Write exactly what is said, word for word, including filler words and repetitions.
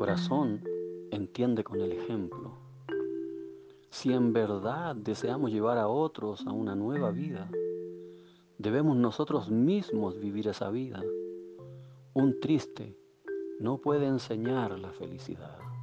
corazón entiende con el ejemplo. Si en verdad deseamos llevar a otros a una nueva vida, debemos nosotros mismos vivir esa vida. Un triste no puede enseñar la felicidad.